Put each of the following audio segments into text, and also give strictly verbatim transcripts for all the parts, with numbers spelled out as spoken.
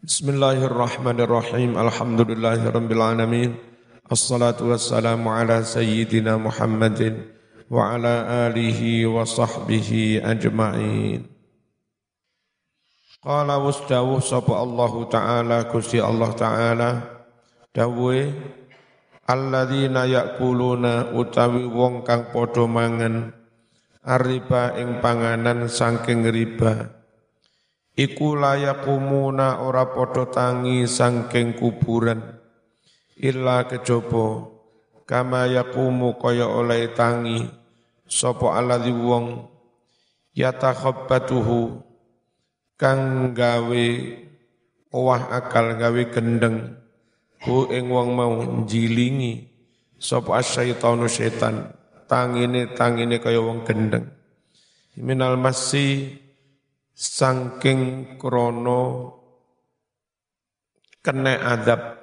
Bismillahirrahmanirrahim. Alhamdulillahirabbil alamin. Assalatu wassalamu ala sayyidina Muhammadin wa ala alihi wa sahbihi ajma'in. Qala wasdawuh sapa Allah Ta'ala Gusti Allah Ta'ala dawuhe alladzina ya'kuluna utawi wong kang padha mangan arriba ing panganan saking riba. Iku layakumuna ora padha tangi sangking kuburan illa kejaba kama yakumu kaya oleh tangi sapa alladzi wong yatakhabbatuhu kang gawe owah akal gawe gendeng hu ing wong mau jilingi sapa asyaitanu setan tangine tangine kaya wong gendeng minal masih sangking krono kene adab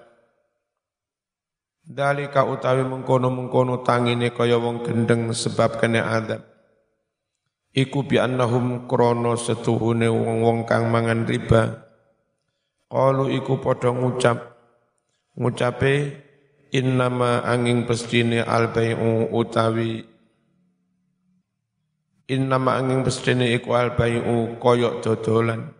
dalika utawi mengkono-mengkono tangine kaya wong gendeng sebab kene adab iku bi annahum krono setuhune wong-wong kang mangan riba qalu iku padha ngucap ngucape innama angin pestine albai'u utawi innama angin pestine iku albai'u koyok dodolan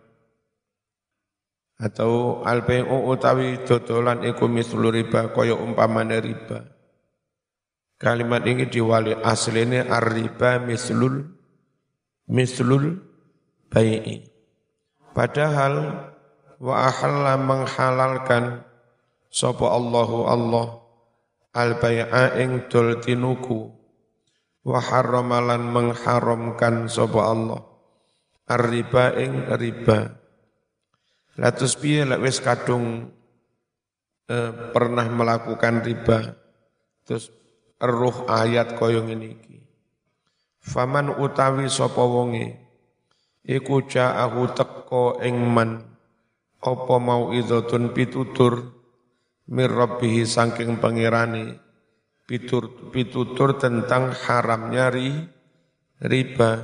atau albai'u utawi dodolan iku mislu riba koyok umpamane riba. Kalimat ini diwali asline ar-riba mislul mislul bai'i. Padahal wa ahalla menghalalkan sapa Allahu Allah al-bai'a ing dol tinuku wa harramalan mengharamkan sapa Allah ar-riba ing riba. Latus piye lek wis kadung eh, pernah melakukan riba terus eruh ayat kaya ngene iki. Faman utawi sapa wonge iku ja'ahu teka ing man apa mau idzatun pitutur mir rabbih saking pangerane Pitur, pitutur tentang haramnya ri, riba.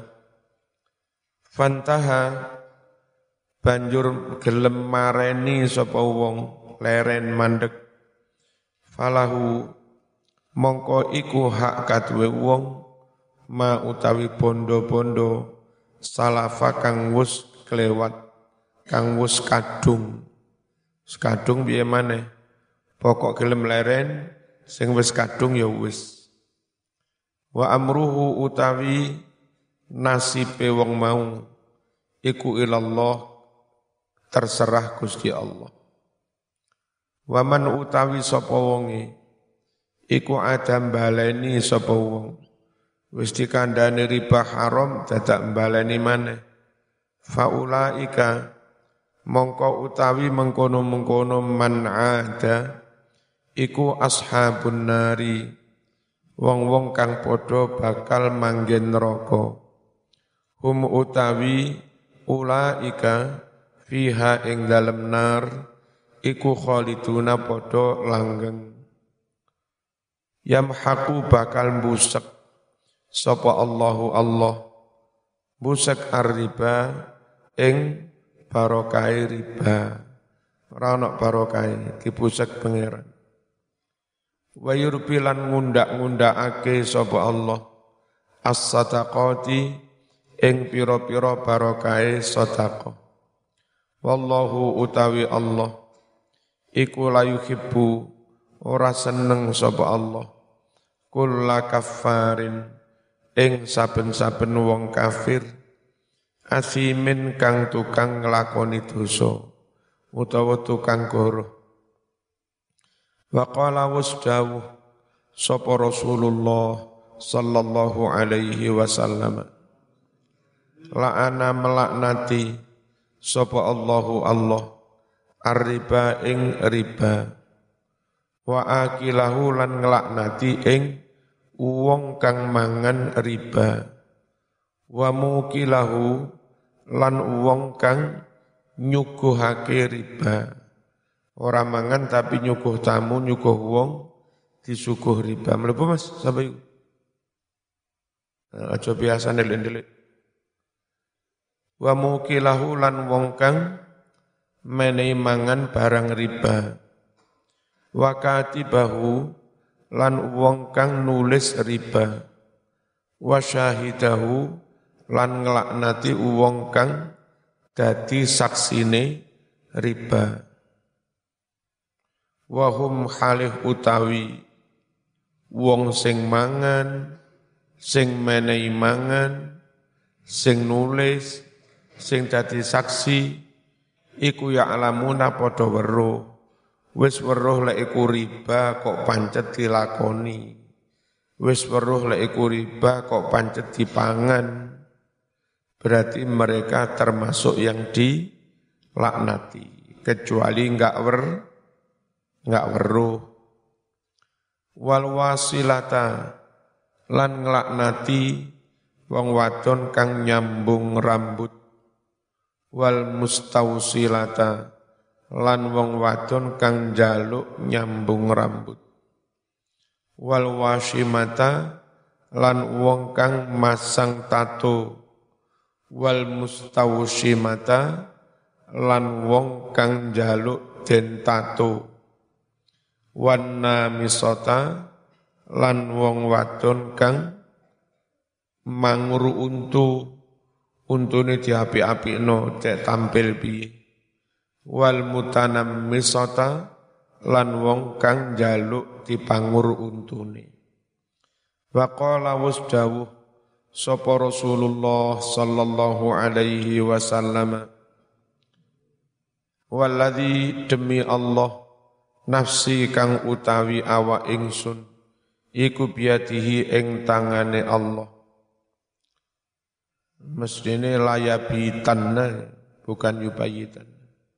Fantaha banjur gelem mareni sapa wong leren mandek. Falahu mongko iku hak kaduwe wong ma utawi bondo-bondo salafa kang wus kelewat kang wus kadung. Kadung piye maneh? Pokok gelem leren sing wis kadung ya wis wa amruhu utawi nasibe wong mau iku ilallah terserah Gusti Allah wa man utawi sapa wonge iku adam baleni sapa wong wis dikandhani riba haram dadak baleni maneh faulaika mongko utawi mengkono-mengkono man ada iku ashabun nari wong-wong kang padha bakal manggen neraka hum utawi ulaika fiha ing dalem nar iku khaliduna padha langgeng yamhaqu bakal busek sapa Allahu Allah busek ar-riba ing barokah riba ora ana barokah dibusek pangeran wa yurbilan ngundak-ngundakake sapa Allah as-sadaqati ing pira-pira barakahe sedekah wallahu utawi Allah iku la yuhibbu ora seneng sapa Allah kulla kaffarin ing saben-saben wong kafir asimin kang tukang nglakoni dosa utawa tukang goroh. Wa qala wasdawuh sapa Rasulullah sallallahu alaihi wasallam la'ana melaknati sapa Allahu Allah ar-riba ing riba wa akilahu lan nglaknati ing wong kang mangan riba wa mukilahu lan wong kang nyuguhake riba. Orang mangan tapi nyuguh tamu, nyuguh wong, disuguh riba. Melebu mas, sampai itu. Aja biasa ndelik-ndelik. Wa mukilahu lan wong kang menehi mangan barang riba. Wa katibahu lan wong kang nulis riba. Wa syahidahu lan nglaknati wong kang dadi saksine riba. Wa hum halih utawi wong sing mangan, sing menehi mangan, sing nulis, sing dadi saksi, iku ya alamuna padha weruh. Wis weruh lek iku riba kok pancet dilakoni. Wis weruh lek iku riba kok pancet dipangan. Berarti mereka termasuk yang dilaknati. Kecuali enggak wer, enggak weruh. Wal wasilata lan nglaknati wong wadon kang nyambung rambut. Wal mustausilata lan wong wadon kang njaluk nyambung rambut. Wal wasimata lan wong kang masang tato. Wal mustausimata lan wong kang njaluk den tato. Wan namisata lan wong wadon kang manguru untu, untune diapi-apikno cek tampil piye. Wal mutanammisata lan wong kang njaluk dipangur untune. Wa qala wasdawuh sapa Rasulullah sallallahu alaihi wasallam, walladzi demi Allah nafsi kang utawi awak ingsun iku biadihi ing tangane Allah. Mestine layabitanna bukan yubayitan.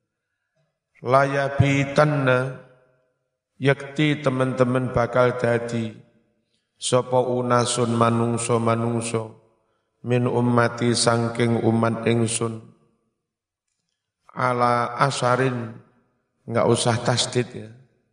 Layabitanna yakti teman-teman bakal dadi sapa unasun manungso-manungso min ummati sangking umat ingsun ala asarin, enggak usah tasdid ya,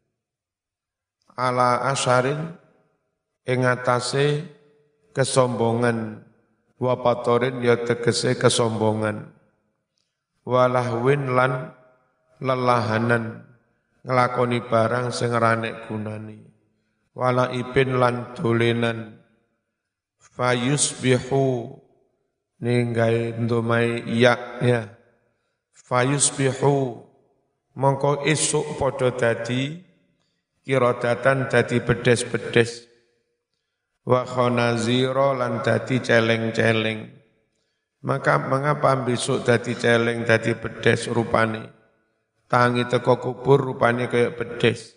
ala asarin ing atase kesombongan, wapatorin ya tegese kesombongan, walahwin lan lelahanan ngelakoni barang sing ranek gunani, wala ibin lan dolenan, fayusbihu ninggai ndomai ya ya, fayusbihu mongko esuk padha dadi kirodatan dadi bedes-bedes, wa khonazira lan dadi celeng-celeng. Maka mengapa besok dadi celeng dadi bedes rupane? Tangi teko kubur rupane kayak bedes.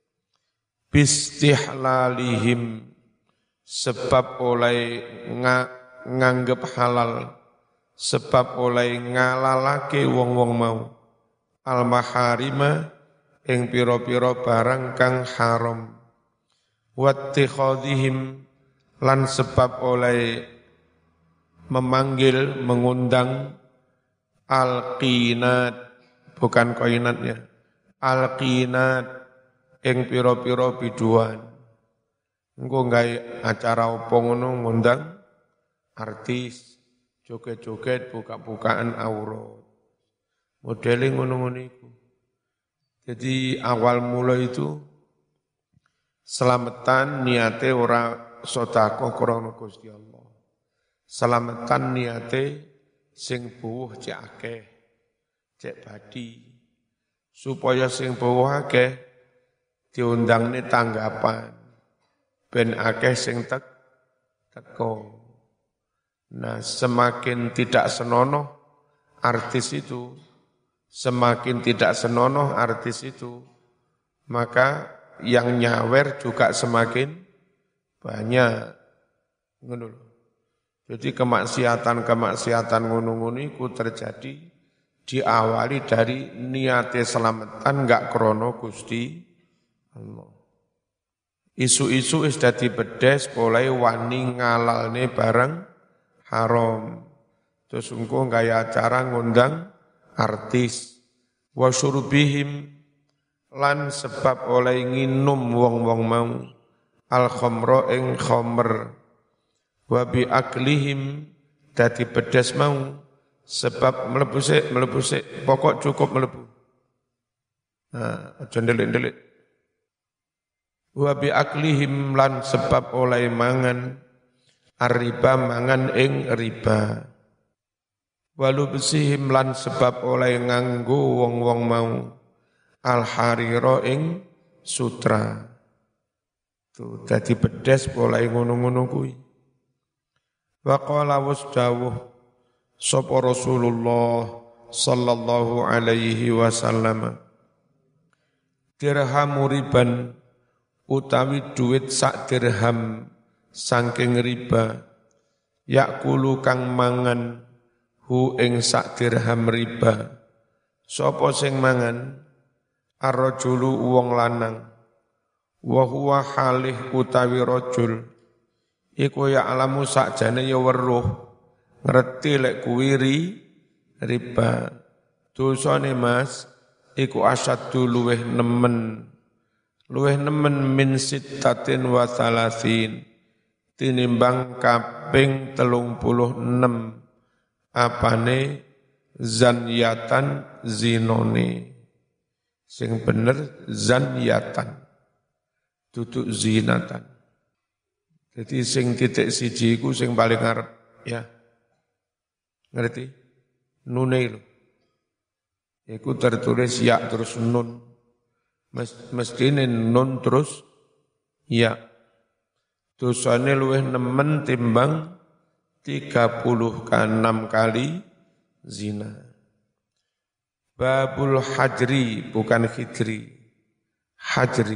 Bistihlalihim sebab oleh nga, nganggep halal, sebab oleh ngalalake wong-wong mau al-maharima ing pira-pira barang kang haram, wattikhadhihim lan sebab oleh memanggil mengundang al-qinat bukan koinatnya, al-qinat ing pira-pira biduan. Engko gawe acara opo ngono ngundang artis joget-joget buka-bukaan aurat. Modeling ngono-ngono iku. Jadi awal mula itu selamatan niate ora sedekah krana Gusti Allah. Selamatan niate sing buwuh cek akeh, cek badi. Supaya sing buwuh akeh diundangne tanggapan. Ben akeh sing tek teko. Nah, semakin tidak senonoh artis itu, semakin tidak senonoh artis itu, maka yang nyawer juga semakin banyak. Ngono. Jadi kemaksiatan-kemaksiatan ngono-ngono iku terjadi diawali dari niate selamatan enggak krono Gusti Allah. Isu-isu wis dadi bedes mulai wani ngalalne barang haram. Terus engko gaya acara ngundang artis, wa syurbihim lan sebab oleh nginum wong-wong mau al khamra ing khamr, wa bi aklihim dadi bedes mau sebab mlebu sik mlebu sik pokok cukup mlebu Nah, aja ndelik-ndelik. Wa bi aklihim lan sebab oleh mangan ar-riba mangan ing riba. Walu besihim lan sebab oleh nganggo wong-wong mau al-harira ing sutra. Tuh dadi bedes oleh ngono-ngono kuwi. Wa qala wasdawuh sapa Rasulullah sallallahu alaihi wasallam dirham riban utawi duit sak dirham saking riba yakulu kang mangan hu ing sak dirham riba sapa sing mangan ar-rajulu wong lanang wa huwa halih utawi rajul iku ya alamu sakjane ya weruh ngerti lek kuwi riba dosane Mas iku asyaddu luweh nemen luweh nemen min sittatin wa thalathin tinimbang kaping telung puluh enam apane zanyatan zinone sing bener zanyatan duduk zinatan jadi sing titik siji iku sing paling ngarep ya ngerti nune lho iku tertulis ya terus nun mestine nun terus ya dosane luwih nemen timbang tiga puluh enam kali zina. Babul hajri bukan hijri hajri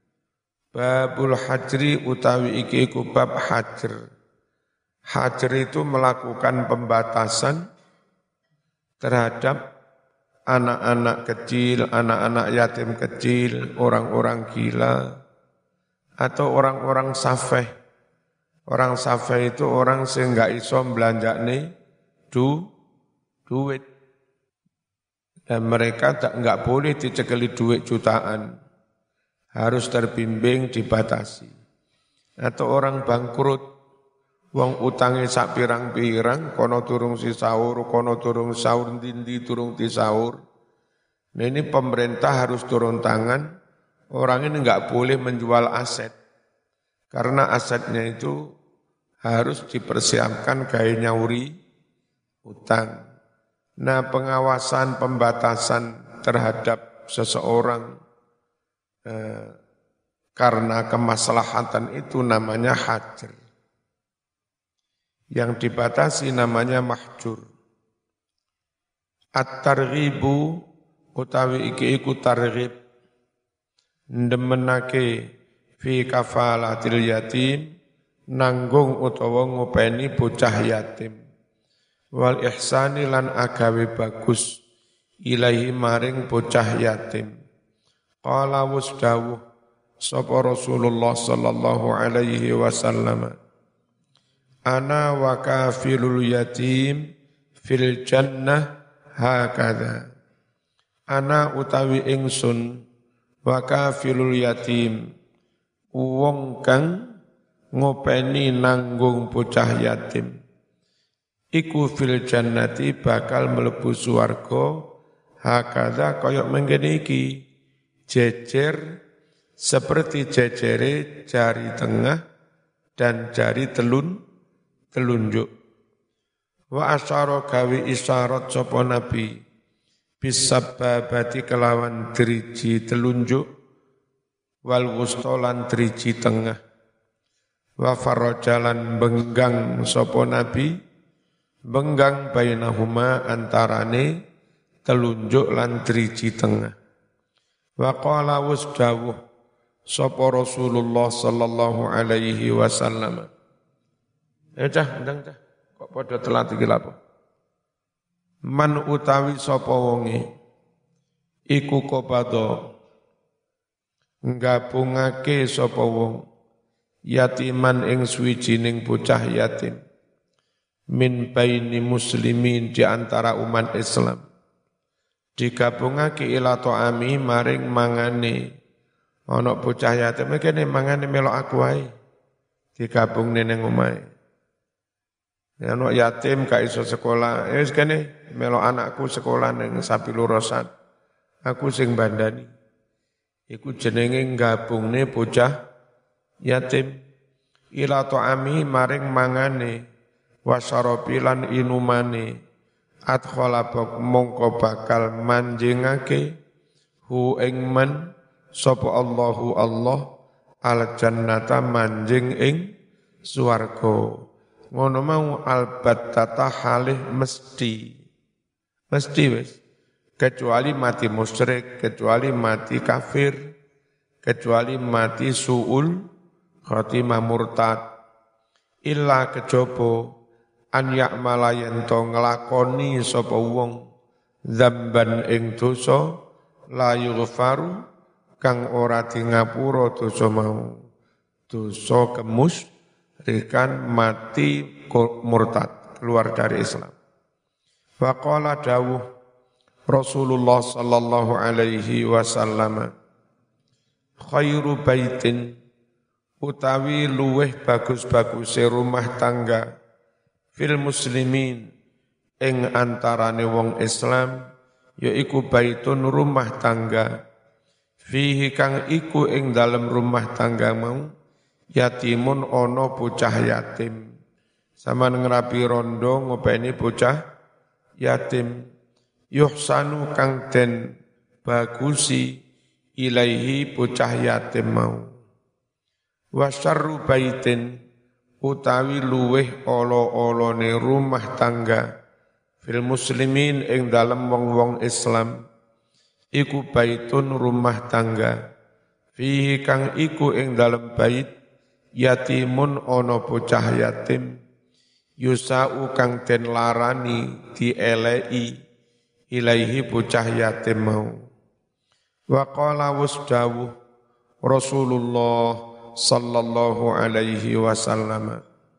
babul hajri utawi iki iku bab hajr. Hajr itu melakukan pembatasan terhadap anak-anak kecil, anak-anak yatim kecil, orang-orang gila, atau orang-orang safeh. Orang safeh itu orang sing gak iso belanjane du, duit. Dan mereka tak nggak boleh dicekeli duit jutaan. Harus terbimbing, dibatasi. Atau orang bangkrut, wong utange sak pirang-pirang, kono turung si sahur, kono turung sahur, dindi turung di sahur. Nah ini pemerintah harus turun tangan, orang ini nggak boleh menjual aset. Karena asetnya itu harus dipersiapkan gaya nyauri utang. Nah pengawasan, pembatasan terhadap seseorang eh, karena kemaslahatan itu namanya hajr. Yang dibatasi namanya mahjur. At-targhibu utawi iki iku targhib ndemenake fi kafalatil yatim nanggung utawa ngopeni bocah yatim wal ihsani lan agawe bagus ilahi maring bocah yatim. Qala wasdawuh sapa Rasulullah sallallahu alaihi wasallam ana wa kafilul yatim fil jannah hakadha. Ana utawi ingsun wa kafilul yatim wong kang ngopeni nanggung bocah yatim iku fil jannati bakal mlebu swarga hakadha kaya mengkene iki jejer seperti jejere jari tengah dan jari telun telunjuk. Wa asyara gawi isyarat sapa nabi bisababati kelawan driji telunjuk wal wustolan driji tengah wa farajalan benggang sapa nabi benggang bainahuma antarane telunjuk lan driji tengah. Wa qala wasdawuh sapa Rasulullah sallallahu alaihi wasallam. Ya cah, ndang cah. Kok padha telat iki lha apa? Man utawi sapa wonge iku qabada nggabungake sapa wong yatiman ing suwijining bocah yatim min baini muslimin di antara umat Islam digabungake ila ta'ami maring mangane ana bocah yatim kene mangane melok aku wae digabungne ning omahe. Anak yatim gak iso sekolah, ya wis kene melok anakku sekolah ning Sabilorosan. Aku sing bandani. iku jenenge gabungne bocah yatim ila ta'ami maring mangane wasyarabi lan inumane adkhala mongko bakal manjingake hu ing man sapa Allahu Allah al jannata manjing ing swarga ngono mau albattata halih mesti mesti wis kecuali mati musyrik kecuali mati kafir kecuali mati suul khatimah murtad illa kejaba an ya'mala yen to nglakoni sapa wong dzamban ing dosa la yughfaru kang ora di ngapura dosa mau dosa kemusyrikan mati murtad keluar dari Islam. Faqala dawuh Rasulullah sallallahu alaihi wasallam khairu baitin utawi luweh bagus-baguse rumah tangga fil muslimin ing antarane wong Islam yaiku baitun rumah tangga fihi kang iku ing dalem rumah tangga mau yatimun ono bocah yatim sampeyan ngrapi rondo ngopeni bocah yatim yuhsanu kang den bagusi ilaihi bocah yatim mau wa syarru baitin utawi luweh olo-olone rumah tangga fil muslimin ing dalem wong-wong Islam iku baitun rumah tangga fihi kang iku ing dalem bait yatimun ono bocah yatim yusau kang den larani dielei ilaihi bocah yatim mau wa qala wasdawu Rasulullah sallallahu alaihi wasallam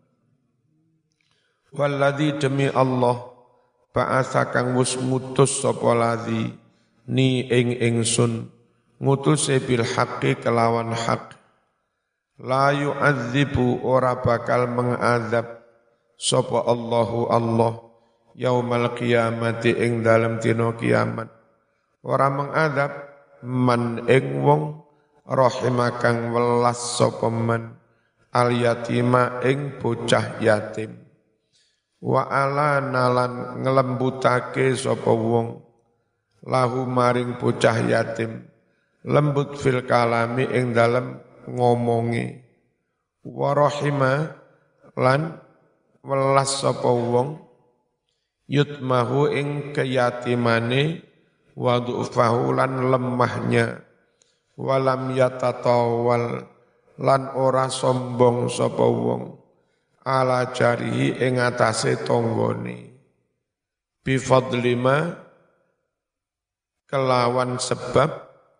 walladzi demi Allah ba'atsa kang wus ngutus sapa ladzi ni ing ingsun ngutuse bil haqqi kelawan hak la yu'adzibu ora bakal mengazab sapa Allahu Allah yaumal qiyamati ing dalem dina kiamat ora mengazab man ing wong rahimakang welas sapa man al yatima ing bocah yatim wa ala nalan ngelembutake sapa wong lahu maring bocah yatim lembut fil kalami ing dalem ngomongi wa rahima lan welas sapa wong yutmahu ing keyatimane wa du'fahu lan lemahnya walam yatatawal lan ora sombong sapa wong ala jarihi ing atase tanggane bi fadlima kelawan sebab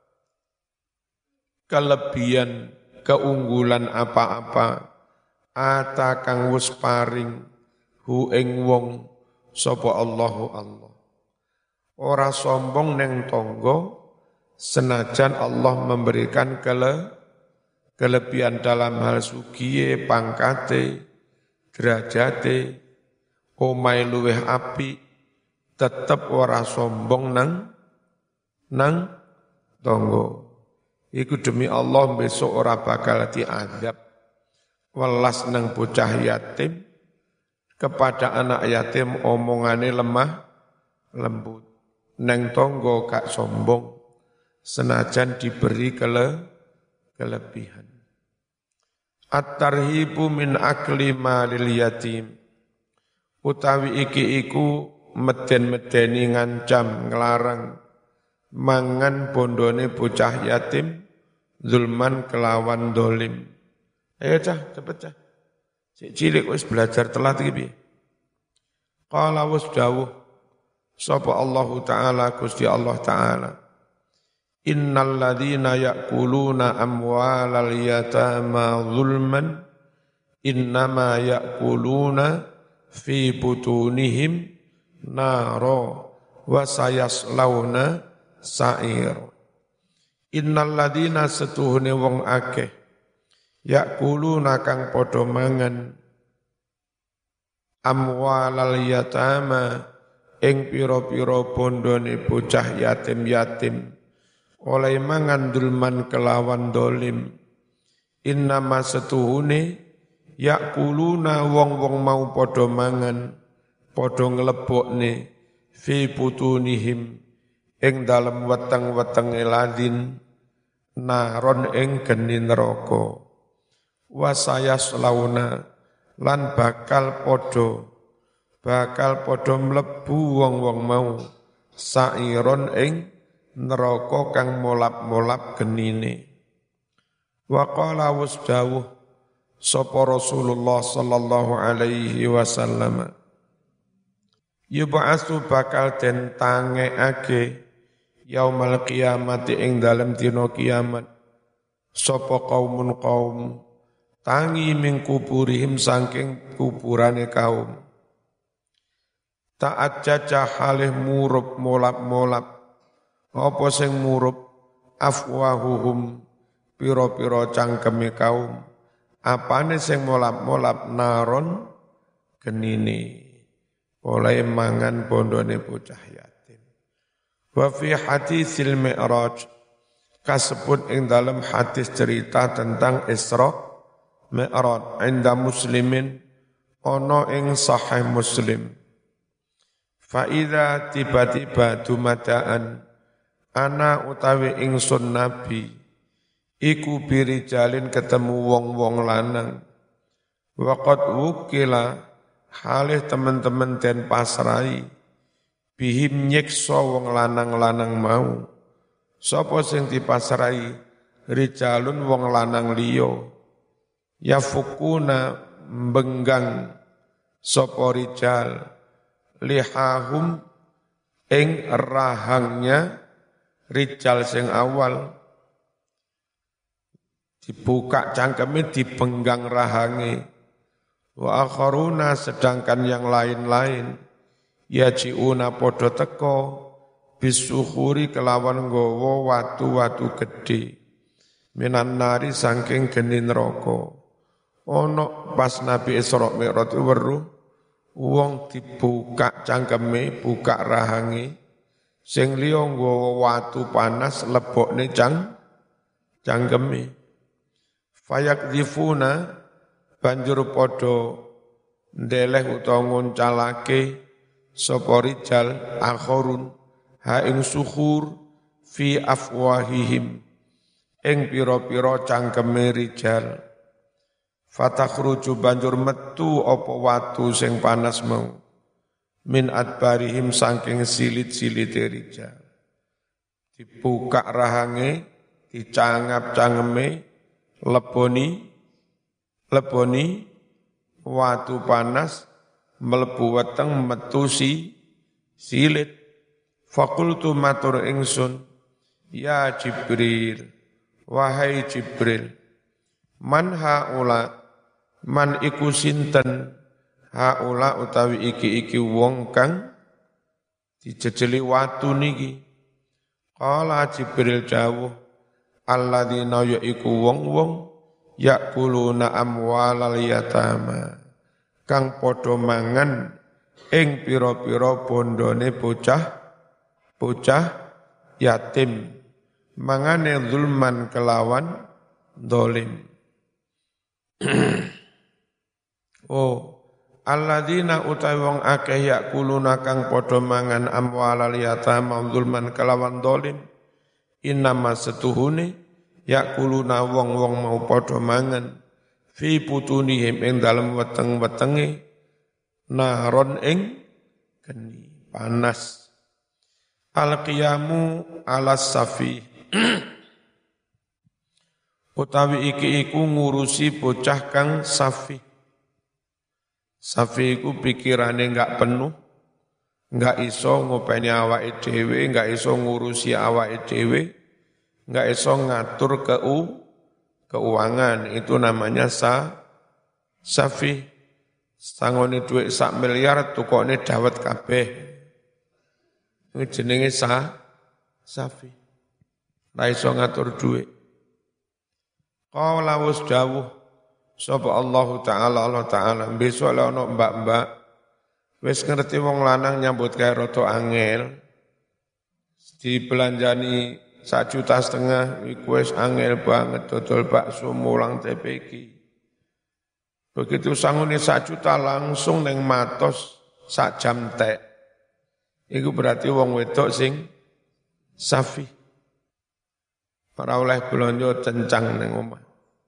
kelebihan keunggulan apa-apa ata kang wis paring hu ing wong sapa Allahu Allah ora sombong neng tangga senajan Allah memberikan kele, kelebihan dalam hal sugiye, pangkate, derajate, omai luweh api, tetep ora sombong nang nang tonggo. Iku demi Allah besok ora bakal diadab. Welas nang bocah yatim, kepada anak yatim omongane lemah, lembut. Nang tonggo gak sombong. Senajan diberi kele, kelebihan. At-tarhibu min akli malil yatim. Utawi iki iku meden-medeni ngancam nglarang mangan bondone bocah yatim zulman kelawan dolim. Ayo cah, cepet cah. Cik cilik wis belajar telat iki piye? Qala wasdawuh sapa Allah Ta'ala Gusti Allah Ta'ala innal ladzina ya'kuluna amwalal yatama zulman innama ya'kuluna fi butunihim naro wa sayaslawna sa'ir. Innal ladzina setuhune wong akeh ya'kuluna kang padha mangan amwalal yatama ing pira-pira bondone bocah yatim-yatim oleh mangan dulman kelawan dolim. Innama setuhune yakuluna wong-wong mau podo mangan, podo nglebokne fi putunihim ing dalem weteng-weteng eladin naron ing geni neraka. Wasayas launa lan bakal podo bakal podo mlebu wong-wong mau sairon ing neraka kang molap-molap genine. Wa qala wasdawuh sapa Rasulullah sallallahu alaihi wasallam, yub'atsu bakal den tangekake yaumal qiyamati ing dalem dina kiamat sapa kaumun kaum tangi ming kuburihim saking kuburane kaum. Ta'at jajah halih murup molap-molap apa sing murup afwahuhum piro-piro cangkeme kaum. Apane sing molap-molap naron genine oleh mangan bondone bocah yatim. Wa fi hadisil mi'raj kasebut ing dalam hadis cerita tentang Isra Mi'raj inda muslimin ono ing sahih Muslim. Fa idza tiba-tiba dumadaan ana utawi ingsun nabi iku birijalin ketemu wong-wong lanang. Waqad wukila halih teman-teman den pasrai bihim nyiksa wong lanang-lanang mau. Sapa sing dipasrai rijalun wong lanang liya yafukuna benggang sapa rijal lihahum ing rahangnya rijal sing awal dibuka cangkeme dibenggang rahange. Wa akharuna sedangkan yang lain-lain yajiuna podo teko bisuhuri kelawan nggawa watu-watu gedhe minan nari saking geni neraka. Ono pas Nabi Isra Mi'raj weruh wong dibuka cangkeme, buka rahange, sing liya nggawa watu panas lebokne cang cangkeme. Fayakdzifuna banjur padha ndeleh utawa ngoncalake sapa rijal akhorun ha ing suhur fi afwahihim ing pira-pira cangkeme rijal. Fatakhruju banjur metu apa watu sing panas mau min adbarihim saking silit-silite rijal. Dibuka rahange, dicangap cangeme, leboni leboni watu panas mlebu weteng metu si silit. Fakultu matur ingsun, ya Jibril, wahai Jibril, man haula man iku sinten haula utawi iki-iki wong kang dijejeli watu niki. Qala Jibril jawuh, alladzina yaiku wong-wong yakuluna amwalal yatama kang padha mangan ing pira-pira bondone bocah bocah yatim mangane zulman kelawan dolim. Oh, alladzina utawi wong akeh yakuluna kang padha mangan amwalal yatama zulman kelawan dolim. Innama setuhune yakuluna wong-wong mau padha mangan fi putunihim ing dalem weteng-wetenge naron ing geni panas. Al-qiyamu alas safi utawi iki iku ngurusi bocah kang safi. Safi iku pikirane enggak penuh, enggak iso ngopeni awake dhewe, enggak iso ngurusi awake dhewe, enggak iso ngatur keu keuangan, itu namanya sa safi. Sangone dhuwit sak miliar tukone dawet kabeh. Iki jenenge sa safi. Ora iso ngatur dhuwit. Qala wasdawuh sapa Allah Ta'ala Allah Ta'ala besok lek ana mbak-mbak wis ngerti wong lanang nyambut gawe rada angel dibelanjani sak juta setengah iku wis angel banget dodol bakso mulang T P G. Begitu sangune sak juta langsung neng matos sak jam tek. Iku berarti wong wedok sing safi. Ora oleh blonjo cencang neng omah.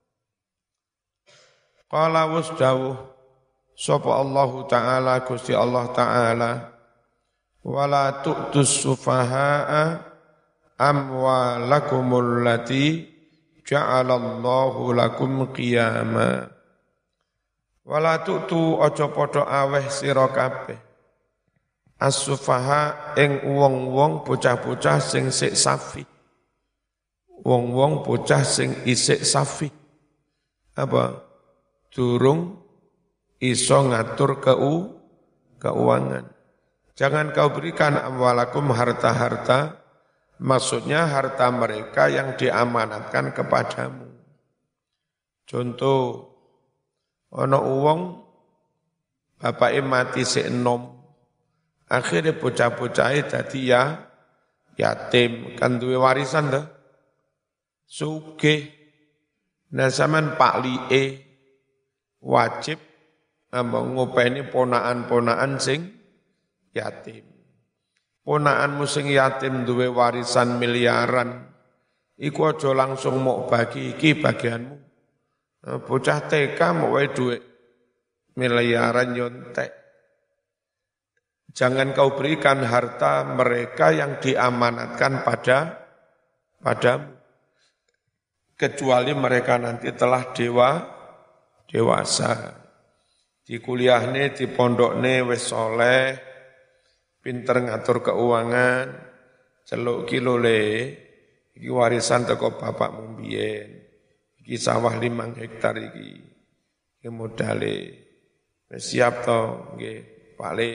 Qala wasdawuh sapa Allah taala Gusti Allah taala wala tu'tus sufaha'a amwalakumul lati ja'alallahu lakum qiyama. Wala tu'tu aja padha aweh sira kabeh as-sufaha ing wong-wong bocah-bocah sing sik safi. Wong-wong bocah sing isik safi. Apa? Durung iso ngatur keu keuangan. Jangan kau berikan amwalakum harta-harta, maksudnya harta mereka yang diamanatkan kepadamu. Contoh, ana wong bapake mati sik enom, akhirnya bocah-bocahe dadi ya yatim, kan duwe warisan dah. Sugih, nah sampean Pak Lie wajib ngopeni ponaan-ponaan sing yatim. Ponaanmu sing yatim duwe warisan miliaran, iku aja langsung mok bagi iki bagianmu. Bocah T K mok wae duwe miliaran nyontek. Jangan kau berikan harta mereka yang diamanatkan pada padamu. Kecuali mereka nanti telah dewa dewasa. Di kuliahne, di pondokne wis soleh, pinter ngatur keuangan, celuk kilo le, iki warisan teko bapakmu mbiyen. Iki sawah limang hektar iki. Iki modale. Wis siap to nggih, Pak Le.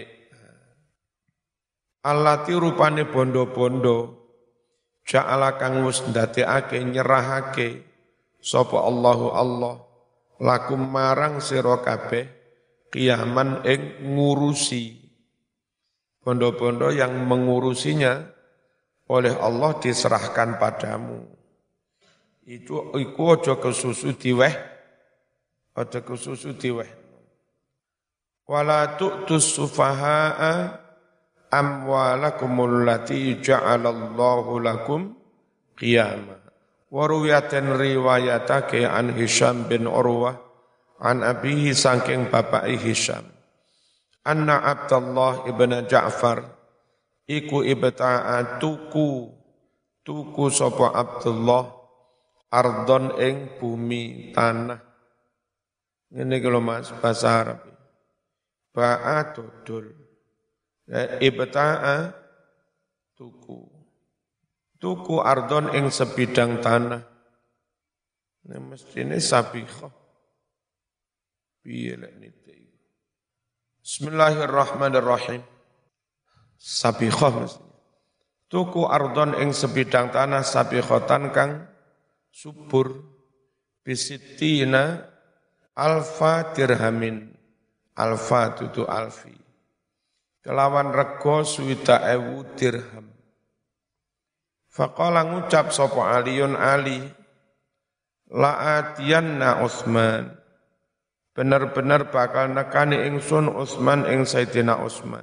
Allati rupane bondo-bondo ja'ala kang wis ndadekake nyerahake sapa Allahu Allah lakum marang sira kabeh qiyaman ing ngurusi. Bondo-bondo yang mengurusinya oleh Allah diserahkan padamu. Itu iku aja kesusu diweh, aja kesusu diweh. Wala tu'tus sufaha'a amwalakumul lati ja'alallahu lakum qiyama. Wa ruwiyatan riwayatake an Hisham bin Urwah an abihi saking bapak Hisham. Anna Abdullah ibn Ja'far iku ibta'a tuku tuku sapa Abdullah ardon ing bumi tanah. Ngene kalau Mas bahasa Arab. Ba'a dodol. Ibta'a tuku. Tuku ardon ing sebidang tanah. Ini mestine sabiqah. Piye lek nite. Bismillahirrahmanirrahim. Sabiqah mestine. Tuku ardon ing sebidang tanah sabiqatan kang subur bisitina alfa dirhamin. Alfa tutu alfi. Kelawan rego suwida ewu dirham. Faqala ngucap sapa Aliun Ali, la'atiyanna Utsman. Benar-benar bakal nekani ingsun Utsman ing Sayyidina Utsman.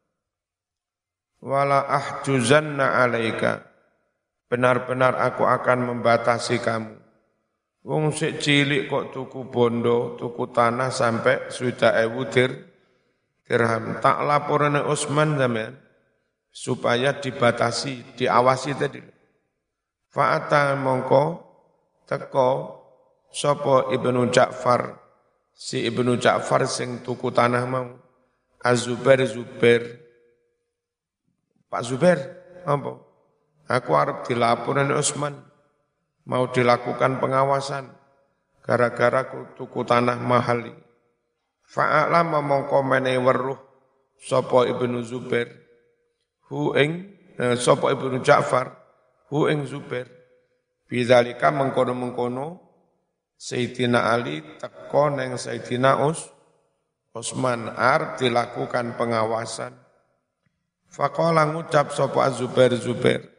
Wala ahjuzanna alaika. Benar-benar aku akan membatasi kamu. Wong sik cilik kok tuku bondo, tuku tanah sampai suwida ewu dir dirham. Tak laporane Utsman sampean supaya dibatasi, diawasi tadi. Fa'ata mongko teko sapa Ibnu Ja'far, si Ibnu Ja'far sing tuku tanah mau. Az-Zubair Zubair. Pak Zubair, apa? Aku arep dilaporane Utsman, mau dilakukan pengawasan gara-gara tuku tanah mahal iki. Fa'alama mongko menehi weruh sapa Ibnu Zubair hu ing eh, sapa Ibnu Ja'far hu ing Zubair bidzalika mengkono-mengkono Sayyidina Ali teko neng Sayyidina Us Utsman arep dilakukan pengawasan. Faqala ngucap sapa Zubair Zubair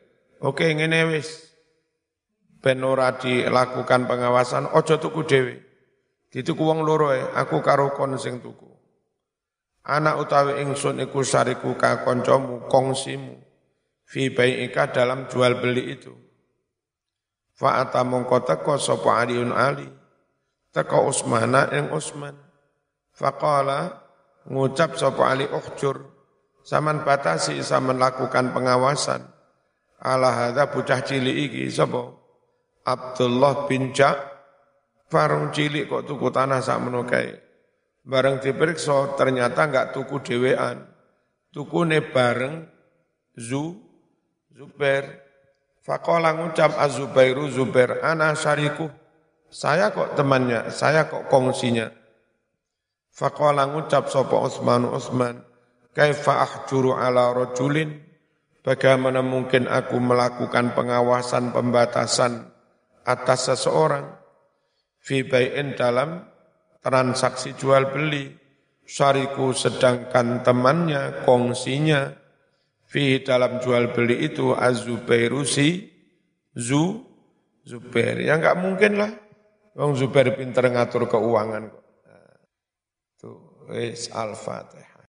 Oke ngene wis ben ora dilakukan pengawasan ojo tuku dhewe. Dituku wong loro ae, aku karo kon sing tuku. Anak utawi ingsun iku syariku ka kancamu kongsimu fi bai'ika dalam jual beli itu. Fa atamongko teko sapa Aliun Ali teko Utsmana ing Utsman. Faqala ngucap sapa Ali ukhjur saman batasi saman lakukan pengawasan ala hadza bocah cilik iki sapa Abdullah bin Ja'far cilik kok tuku tanah sakmono kae. Bareng diperiksa ternyata enggak tuku dhewean. Tukune bareng Zu Zubair. Faqala ngucap Az-Zubairu Zubair ana syariku. Saya kok temannya, saya kok kongsinya. Faqala ngucap sapa Utsman Utsman, kaifa ahjuru ala rajulin? Bagaimana mungkin aku melakukan pengawasan pembatasan atas seseorang fi bai'in dalam transaksi jual beli, syariku sedangkan temannya, kongsinya, fi dalam jual beli itu Az-Zubairu si Zu Zubair. Ya enggak mungkin lah. Wong Zubair pinter ngatur keuangan kok. Tuh, wis Al-Fatihah.